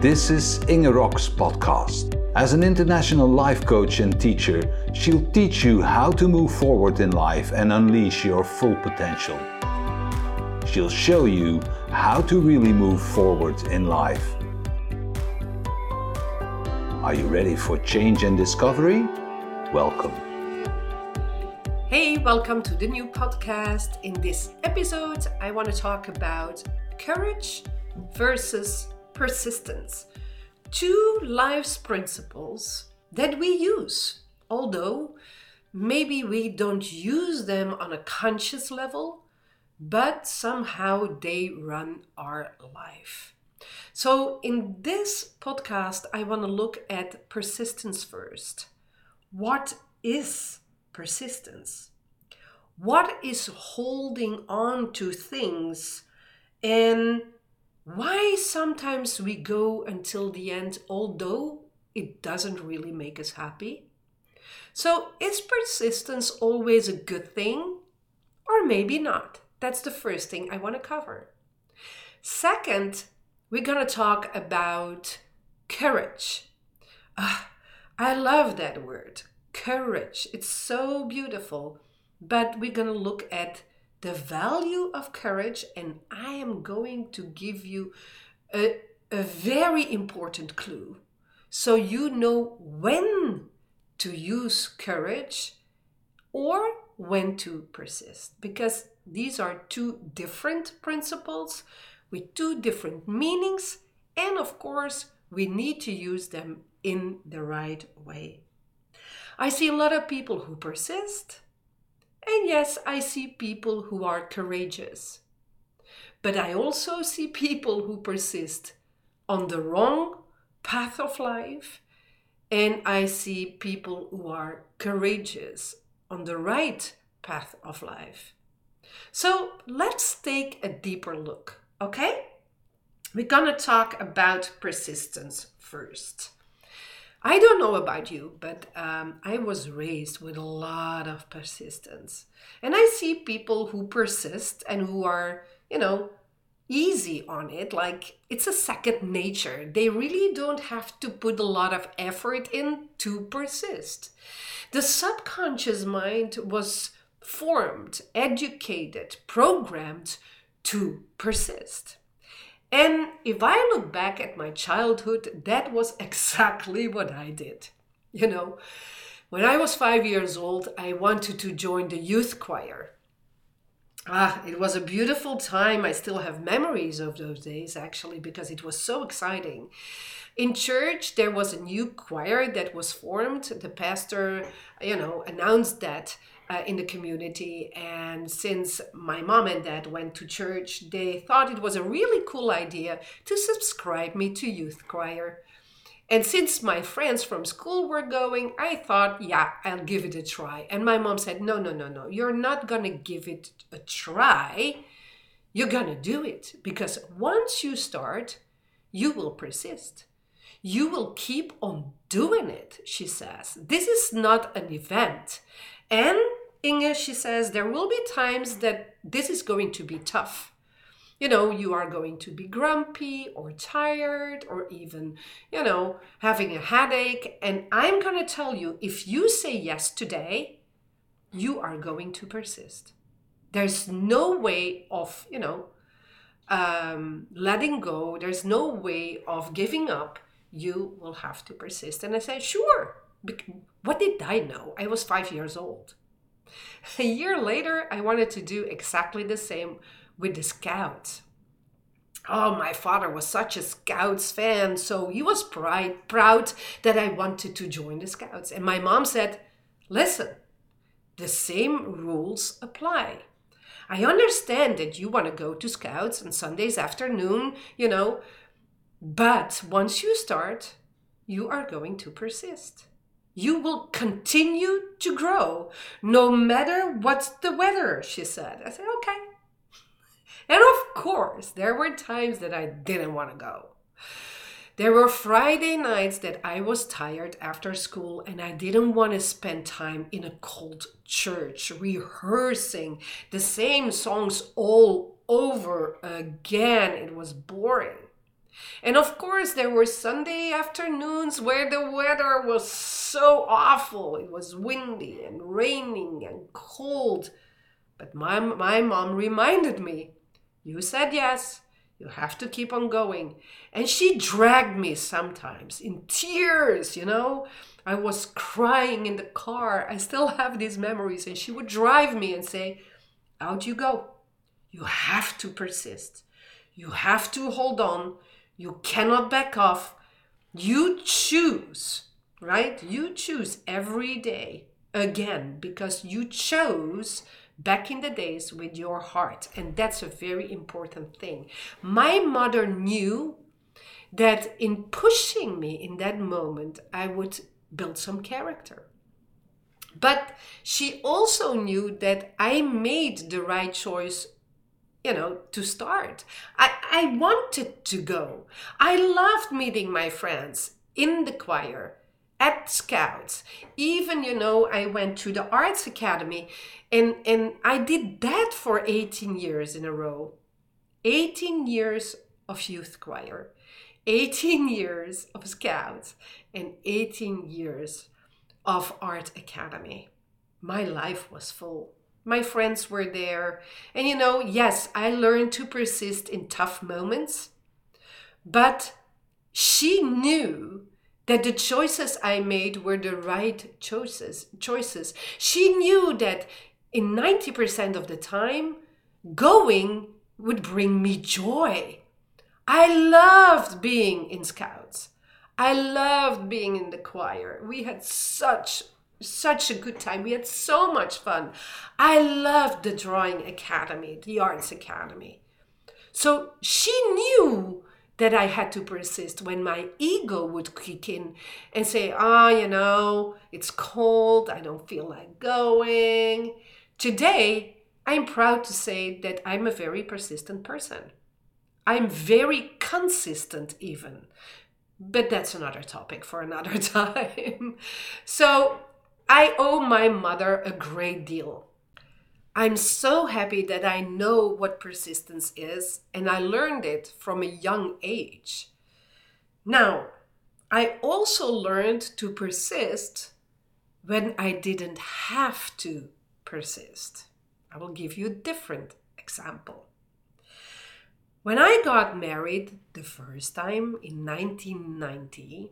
This is Inge Rok's podcast. As an international life coach and teacher, she'll teach you how to move forward in life and unleash your full potential. She'll show you how to really move forward in life. Are you ready for change and discovery? Welcome. Hey, welcome to the new podcast. In this episode, I want to talk about courage versus persistence. Two life's principles that we use, although maybe we don't use them on a conscious level, but somehow they run our life. So in this podcast, I want to look at persistence first. What is persistence? What is holding on to things, and why sometimes we go until the end, although it doesn't really make us happy? So is persistence always a good thing? Or maybe not? That's the first thing I want to cover. Second, we're going to talk about courage. I love that word, courage. It's so beautiful. But we're going to look at the value of courage, and I am going to give you a very important clue. So you know when to use courage or when to persist. Because these are two different principles with two different meanings. And of course, we need to use them in the right way. I see a lot of people who persist. And yes, I see people who are courageous. But I also see people who persist on the wrong path of life. And I see people who are courageous on the right path of life. So let's take a deeper look, okay? We're going to talk about persistence first. I don't know about you, but I was raised with a lot of persistence. And I see people who persist and who are, easy on it, like it's a second nature. They really don't have to put a lot of effort in to persist. The subconscious mind was formed, educated, programmed to persist. And if I look back at my childhood, that was exactly what I did. When I was 5 years old, I wanted to join the youth choir. It was a beautiful time. I still have memories of those days, actually, because it was so exciting. In church, there was a new choir that was formed. The pastor, announced that in the community. And since my mom and dad went to church, they thought it was a really cool idea to subscribe me to youth choir. And since my friends from school were going, I thought, I'll give it a try. And my mom said, no, you're not going to give it a try. You're going to do it. Because once you start, you will persist. You will keep on doing it, she says. This is not an event. And Inge, she says, there will be times that this is going to be tough. You are going to be grumpy or tired or even, having a headache. And I'm going to tell you, if you say yes today, you are going to persist. There's no way of, letting go. There's no way of giving up. You will have to persist. And I said, sure. What did I know? I was 5 years old. A year later, I wanted to do exactly the same with the Scouts. Oh, my father was such a Scouts fan, so he was proud that I wanted to join the Scouts. And my mom said, listen, the same rules apply. I understand that you want to go to Scouts on Sundays afternoon, but once you start, you are going to persist. You will continue to grow no matter what's the weather, she said. I said, okay. And of course, there were times that I didn't want to go. There were Friday nights that I was tired after school and I didn't want to spend time in a cold church rehearsing the same songs all over again. It was boring. And of course, there were Sunday afternoons where the weather was so awful. It was windy and raining and cold. But my mom reminded me, you said yes, you have to keep on going. And she dragged me sometimes in tears, I was crying in the car. I still have these memories. And she would drive me and say, out you go. You have to persist. You have to hold on. You cannot back off. You choose, right? You choose every day again because you chose back in the days with your heart. And that's a very important thing. My mother knew that in pushing me in that moment, I would build some character. But she also knew that I made the right choice, to start. I wanted to go. I loved meeting my friends in the choir, at Scouts. Even, I went to the Arts Academy and I did that for 18 years in a row. 18 years of youth choir, 18 years of Scouts, and 18 years of Art Academy. My life was full. My friends were there. And yes, I learned to persist in tough moments. But she knew that the choices I made were the right choices. She knew that in 90% of the time, going would bring me joy. I loved being in Scouts. I loved being in the choir. We had such a good time. We had so much fun. I loved the Drawing Academy, the Arts Academy. So she knew that I had to persist when my ego would kick in and say, it's cold. I don't feel like going. Today, I'm proud to say that I'm a very persistent person. I'm very consistent even. But that's another topic for another time. So I owe my mother a great deal. I'm so happy that I know what persistence is, and I learned it from a young age. Now, I also learned to persist when I didn't have to persist. I will give you a different example. When I got married the first time in 1990,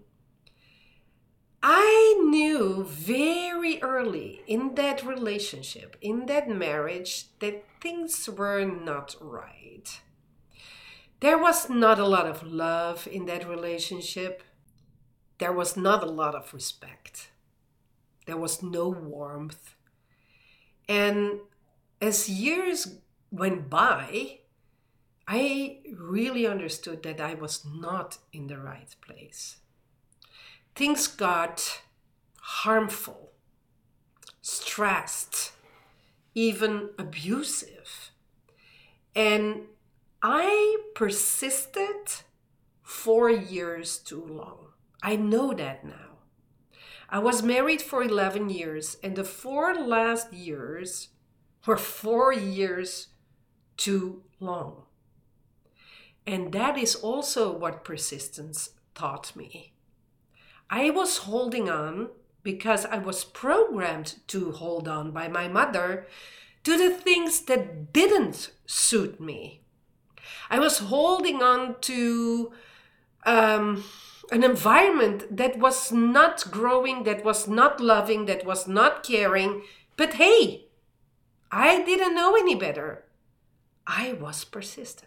I knew very early in that relationship, in that marriage, that things were not right. There was not a lot of love in that relationship. There was not a lot of respect. There was no warmth. And as years went by, I really understood that I was not in the right place. Things got harmful, stressed, even abusive. And I persisted 4 years too long. I know that now. I was married for 11 years, and the 4 last years were 4 years too long. And that is also what persistence taught me. I was holding on because I was programmed to hold on by my mother to the things that didn't suit me. I was holding on to an environment that was not growing, that was not loving, that was not caring. But hey, I didn't know any better. I was persistent.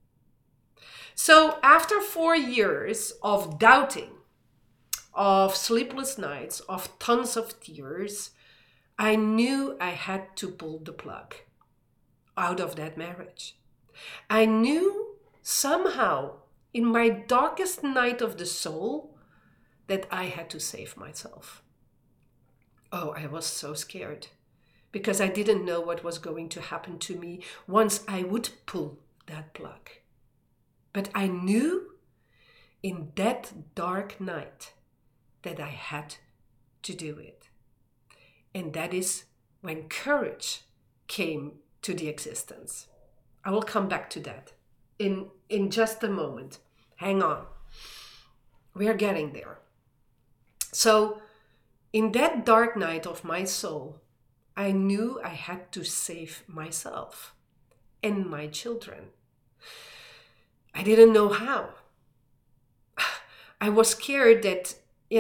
So after 4 years of doubting, of sleepless nights, of tons of tears, I knew I had to pull the plug out of that marriage. I knew somehow in my darkest night of the soul that I had to save myself. Oh, I was so scared because I didn't know what was going to happen to me once I would pull that plug. But I knew in that dark night that I had to do it. And that is when courage came to the existence. I will come back to that in just a moment. hang on. We are getting there. So in that dark night of my soul, I knew I had to save myself and my children. I didn't know how. I was scared that,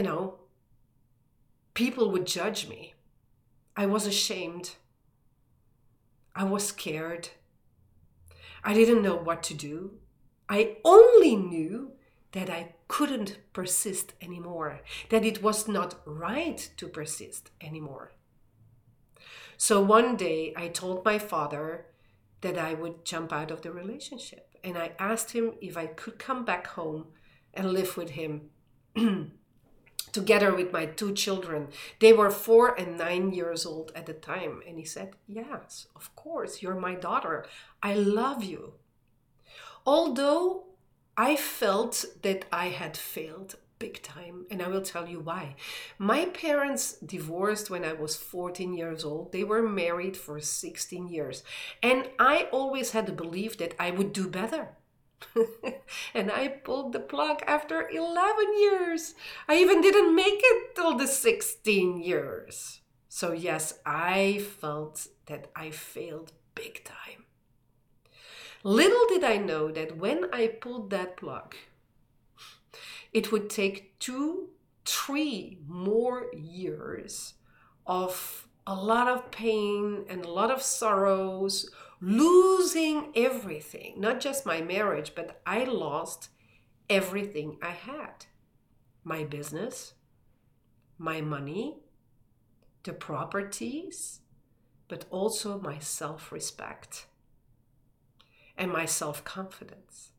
people would judge me. I was ashamed. I was scared. I didn't know what to do. I only knew that I couldn't persist anymore, that it was not right to persist anymore. So one day I told my father that I would jump out of the relationship, and I asked him if I could come back home and live with him together with my 2 children. They were 4 and 9 years old at the time. And he said, yes, of course, you're my daughter. I love you. Although I felt that I had failed big time, and I will tell you why. My parents divorced when I was 14 years old. They were married for 16 years. And I always had the belief that I would do better. And I pulled the plug after 11 years. I even didn't make it till the 16 years. So yes, I felt that I failed big time. Little did I know that when I pulled that plug, it would take 2-3 more years of a lot of pain and a lot of sorrows, losing everything, not just my marriage, but I lost everything I had. My business, my money, the properties, but also my self-respect and my self-confidence.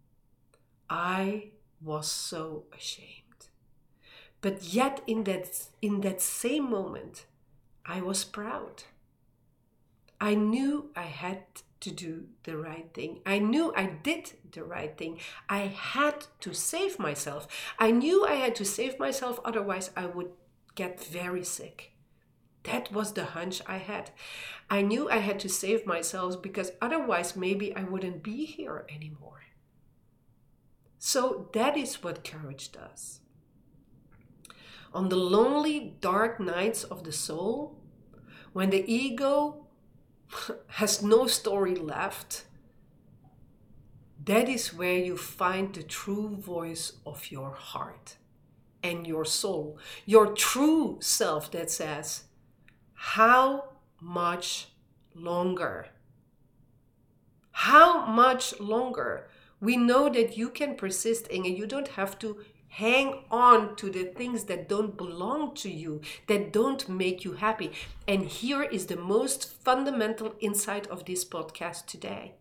I was so ashamed. But yet in that same moment, I was proud. I knew I had to do the right thing. I knew I did the right thing. I had to save myself. I knew I had to save myself, otherwise I would get very sick. That was the hunch I had. I knew I had to save myself because otherwise maybe I wouldn't be here anymore. So that is what courage does. On the lonely, dark nights of the soul, when the ego has no story left, that is where you find the true voice of your heart and your soul, your true self that says, how much longer? How much longer? We know that you can persist, and you don't have to hang on to the things that don't belong to you, that don't make you happy. And here is the most fundamental insight of this podcast today.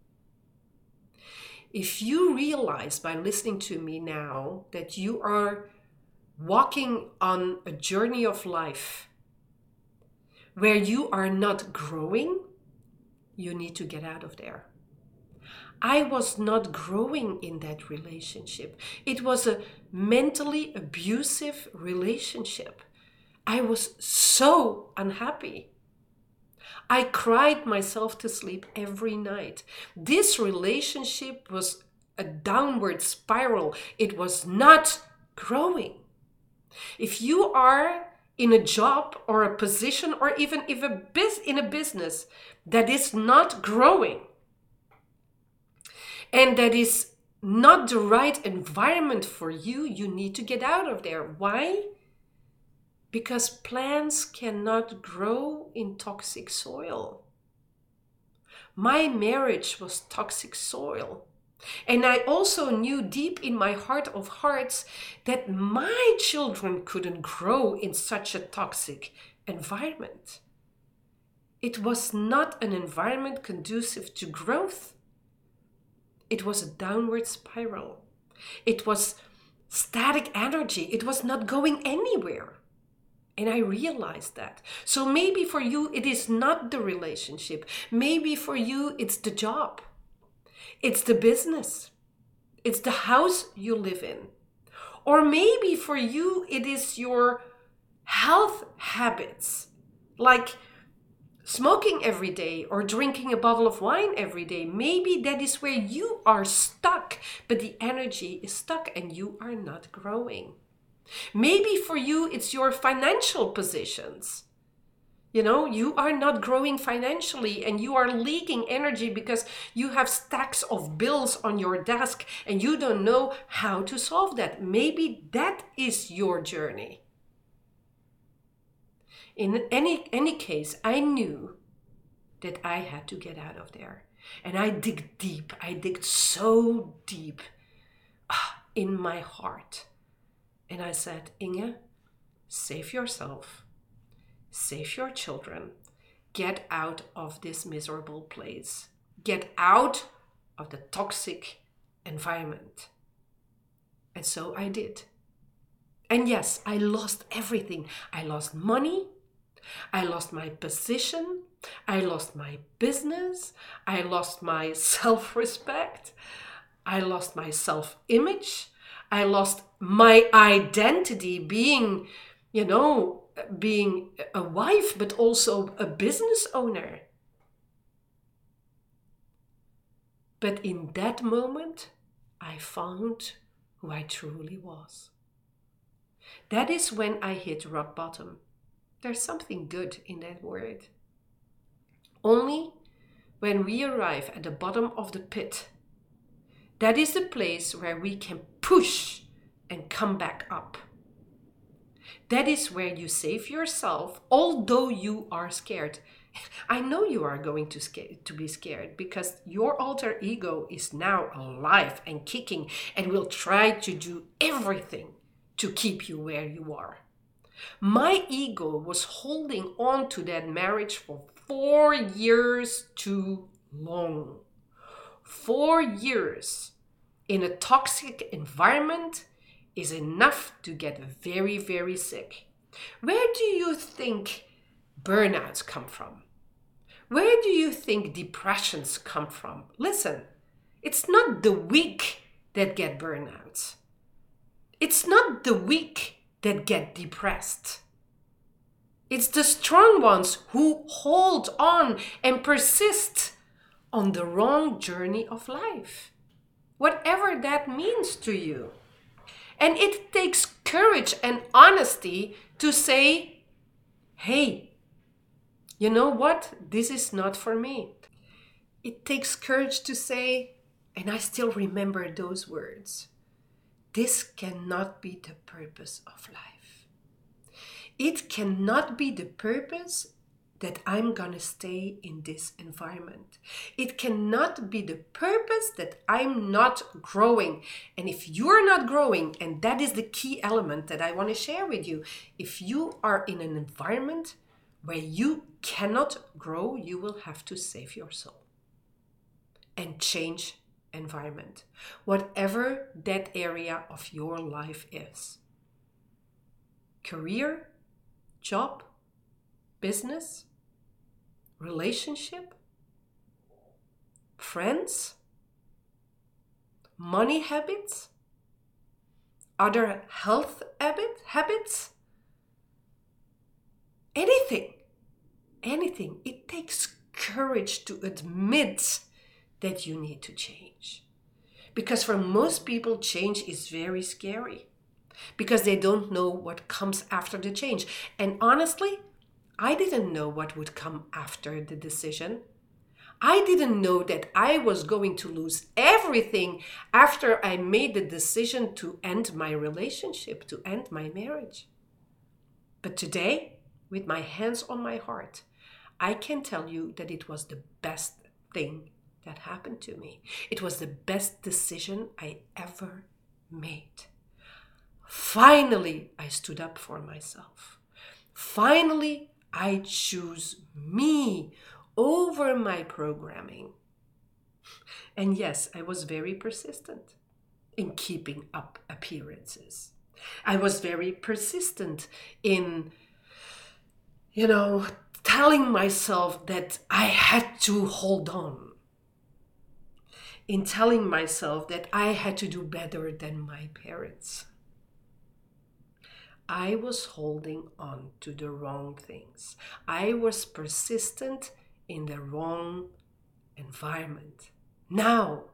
If you realize by listening to me now that you are walking on a journey of life where you are not growing, you need to get out of there. I was not growing in that relationship. It was a mentally abusive relationship. I was so unhappy. I cried myself to sleep every night. This relationship was a downward spiral. It was not growing. If you are in a job or a position or even in a business that is not growing, and that is not the right environment for you, you need to get out of there. Why? Because plants cannot grow in toxic soil. My marriage was toxic soil. And I also knew deep in my heart of hearts that my children couldn't grow in such a toxic environment. It was not an environment conducive to growth. It was a downward spiral. It was static energy. It was not going anywhere. And I realized that. So maybe for you, it is not the relationship. Maybe for you, it's the job. It's the business. It's the house you live in. Or maybe for you, it is your health habits. Like smoking every day or drinking a bottle of wine every day. Maybe that is where you are stuck, but the energy is stuck and you are not growing. Maybe for you, it's your financial positions. You are not growing financially and you are leaking energy because you have stacks of bills on your desk and you don't know how to solve that. Maybe that is your journey. In any case, I knew that I had to get out of there. And I dig deep. I dig so deep in my heart. And I said, Inge, save yourself. Save your children. Get out of this miserable place. Get out of the toxic environment. And so I did. And yes, I lost everything. I lost money. I lost my position. I lost my business. I lost my self-respect. I lost my self-image. I lost my identity being a wife, but also a business owner. But in that moment, I found who I truly was. That is when I hit rock bottom. There's something good in that word. Only when we arrive at the bottom of the pit, that is the place where we can push and come back up. That is where you save yourself, although you are scared. I know you are going to be scared because your alter ego is now alive and kicking and will try to do everything to keep you where you are. My ego was holding on to that marriage for 4 years too long. 4 years in a toxic environment is enough to get very, very sick. Where do you think burnouts come from? Where do you think depressions come from? Listen, it's not the weak that get burnouts. It's not the weak that get depressed. It's the strong ones who hold on and persist on the wrong journey of life. Whatever that means to you. And it takes courage and honesty to say, hey, you know what? This is not for me. It takes courage to say, and I still remember those words, this cannot be the purpose of life. It cannot be the purpose that I'm gonna stay in this environment. It cannot be the purpose that I'm not growing. And if you're not growing, and that is the key element that I want to share with you, if you are in an environment where you cannot grow, you will have to save your soul and change environment, whatever that area of your life is. Career, job, business, relationship, friends, money habits, other health habits, anything. It takes courage to admit that you need to change. Because for most people, change is very scary because they don't know what comes after the change. And honestly, I didn't know what would come after the decision. I didn't know that I was going to lose everything after I made the decision to end my relationship, to end my marriage. But today, with my hands on my heart, I can tell you that it was the best thing that happened to me. It was the best decision I ever made. Finally, I stood up for myself. Finally, I choose me over my programming. And yes, I was very persistent in keeping up appearances. I was very persistent in, telling myself that I had to hold on. In telling myself that I had to do better than my parents. I was holding on to the wrong things. I was persistent in the wrong environment. Now,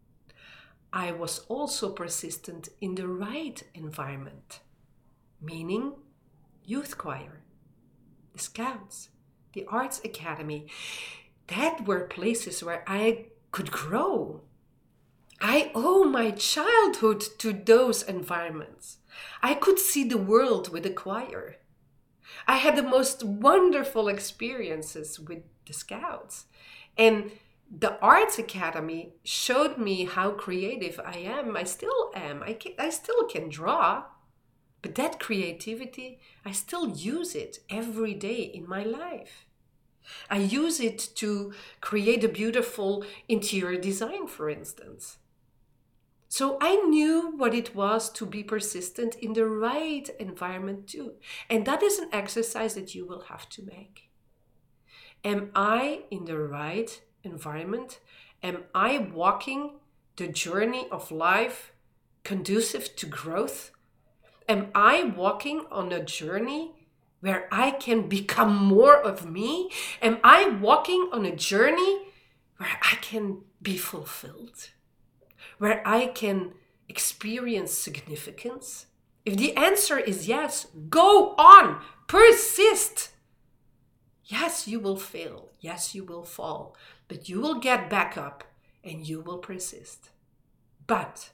I was also persistent in the right environment, meaning youth choir, the Scouts, the Arts Academy. That were places where I could grow. I owe my childhood to those environments. I could see the world with the choir. I had the most wonderful experiences with the Scouts. And the Arts Academy showed me how creative I am. I still am. I still can draw. But that creativity, I still use it every day in my life. I use it to create a beautiful interior design, for instance. So I knew what it was to be persistent in the right environment too. And that is an exercise that you will have to make. Am I in the right environment? Am I walking the journey of life conducive to growth? Am I walking on a journey where I can become more of me? Am I walking on a journey where I can be fulfilled? Where I can experience significance? If the answer is yes, go on, persist. Yes, you will fail. Yes, you will fall. But you will get back up and you will persist. But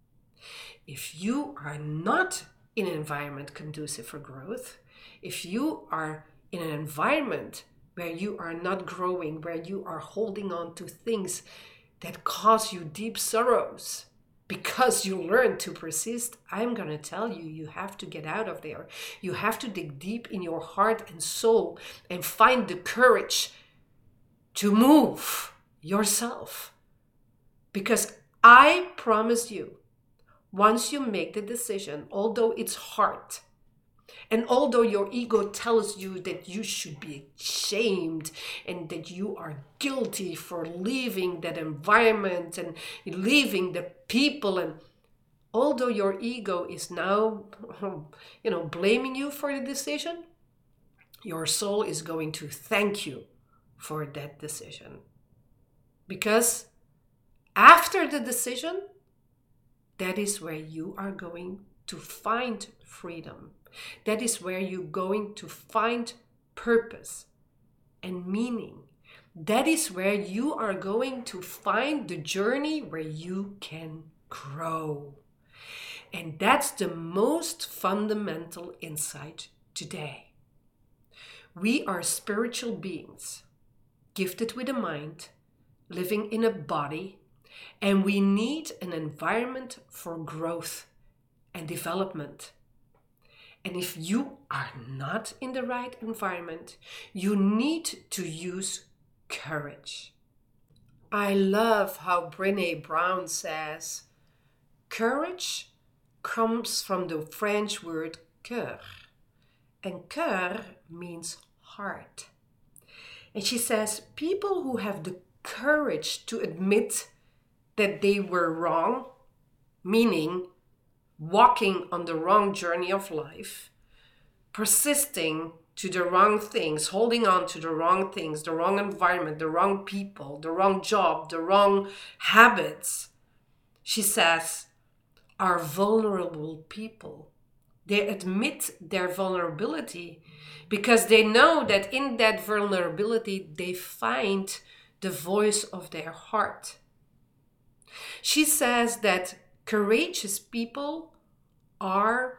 if you are not in an environment conducive for growth, if you are in an environment where you are not growing, where you are holding on to things that cause you deep sorrows because you learn to persist, I'm going to tell you, you have to get out of there. You have to dig deep in your heart and soul and find the courage to move yourself. Because I promise you, once you make the decision, although it's hard, and although your ego tells you that you should be ashamed and that you are guilty for leaving that environment and leaving the people, and although your ego is now, blaming you for the decision, your soul is going to thank you for that decision. Because after the decision, that is where you are going to find freedom. That is where you're going to find purpose and meaning. That is where you are going to find the journey where you can grow. And that's the most fundamental insight today. We are spiritual beings, gifted with a mind, living in a body, and we need an environment for growth and development. And if you are not in the right environment, you need to use courage. I love how Brené Brown says, courage comes from the French word cœur. And cœur means heart. And she says, people who have the courage to admit that they were wrong, meaning walking on the wrong journey of life, persisting to the wrong things, holding on to the wrong things, the wrong environment, the wrong people, the wrong job, the wrong habits, she says, are vulnerable people. They admit their vulnerability because they know that in that vulnerability they find the voice of their heart. She says that courageous people are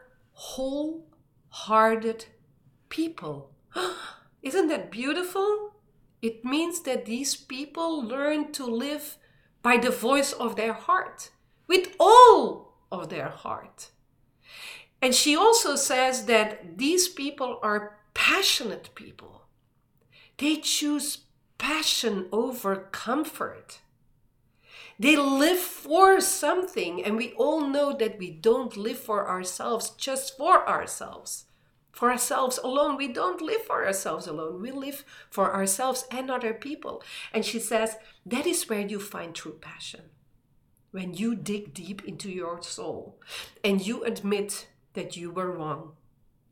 wholehearted people. Isn't that beautiful? It means that these people learn to live by the voice of their heart, with all of their heart. And she also says that these people are passionate people. They choose passion over comfort. They live for something, and we all know that we don't live for ourselves just for ourselves. For ourselves alone. We don't live for ourselves alone. We live for ourselves and other people. And she says that is where you find true passion. When you dig deep into your soul and you admit that you were wrong,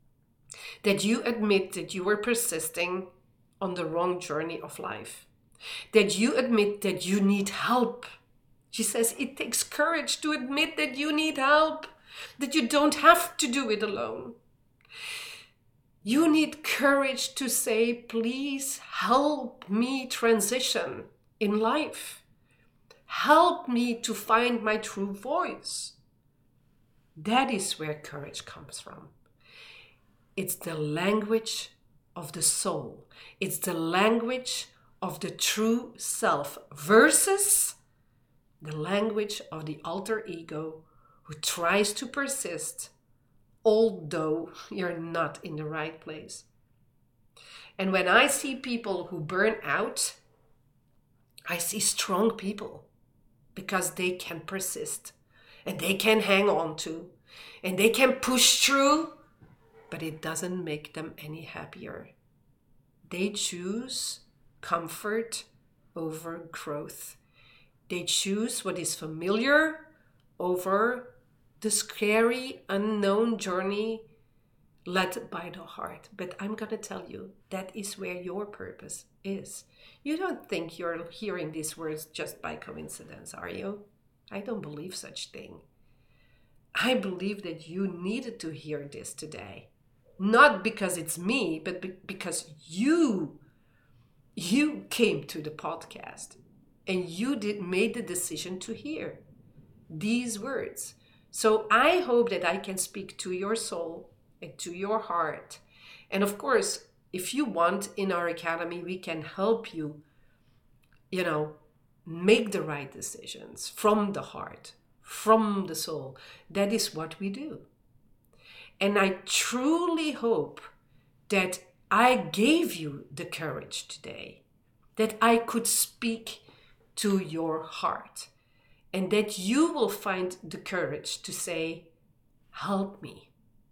That you admit that you were persisting on the wrong journey of life. That you admit that you need help. She says it takes courage to admit that you need help, that you don't have to do it alone. You need courage to say, please help me transition in life. Help me to find my true voice. That is where courage comes from. It's the language of the soul. It's the language of the true self versus the language of the alter ego who tries to persist although you're not in the right place. And when I see people who burn out, I see strong people because they can persist and they can hang on to and they can push through, but it doesn't make them any happier. They choose comfort over growth. They choose what is familiar over the scary, unknown journey led by the heart. But I'm going to tell you, that is where your purpose is. You don't think you're hearing these words just by coincidence, are you? I don't believe such thing. I believe that you needed to hear this today. Not because it's me, but because you came to the podcast and you made the decision to hear these words. So I hope that I can speak to your soul and to your heart. And of course, if you want, in our academy, we can help you, make the right decisions from the heart, from the soul. That is what we do. And I truly hope that I gave you the courage today, that I could speak to your heart, and that you will find the courage to say, help me.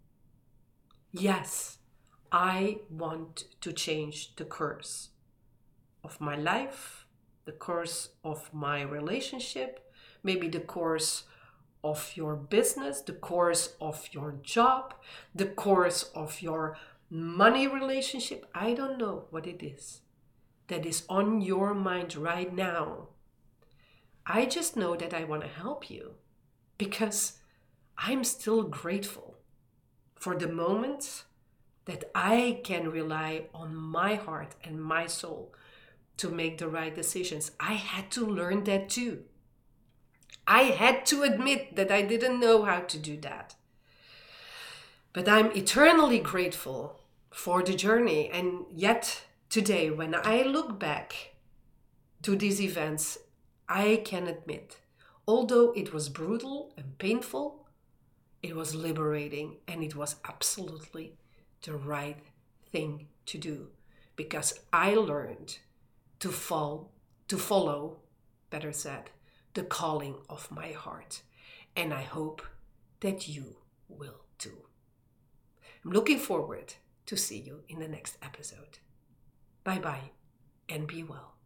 Yes, I want to change the course of my life, the course of my relationship, maybe the course of your business, the course of your job, the course of your money relationship. I don't know what it is that is on your mind right now. I just know that I want to help you because I'm still grateful for the moments that I can rely on my heart and my soul to make the right decisions. I had to learn that too. I had to admit that I didn't know how to do that. But I'm eternally grateful for the journey. And yet today, when I look back to these events, I can admit, although it was brutal and painful, it was liberating and it was absolutely the right thing to do, because I learned to follow, better said, the calling of my heart. And I hope that you will too. I'm looking forward to see you in the next episode. Bye-bye and be well.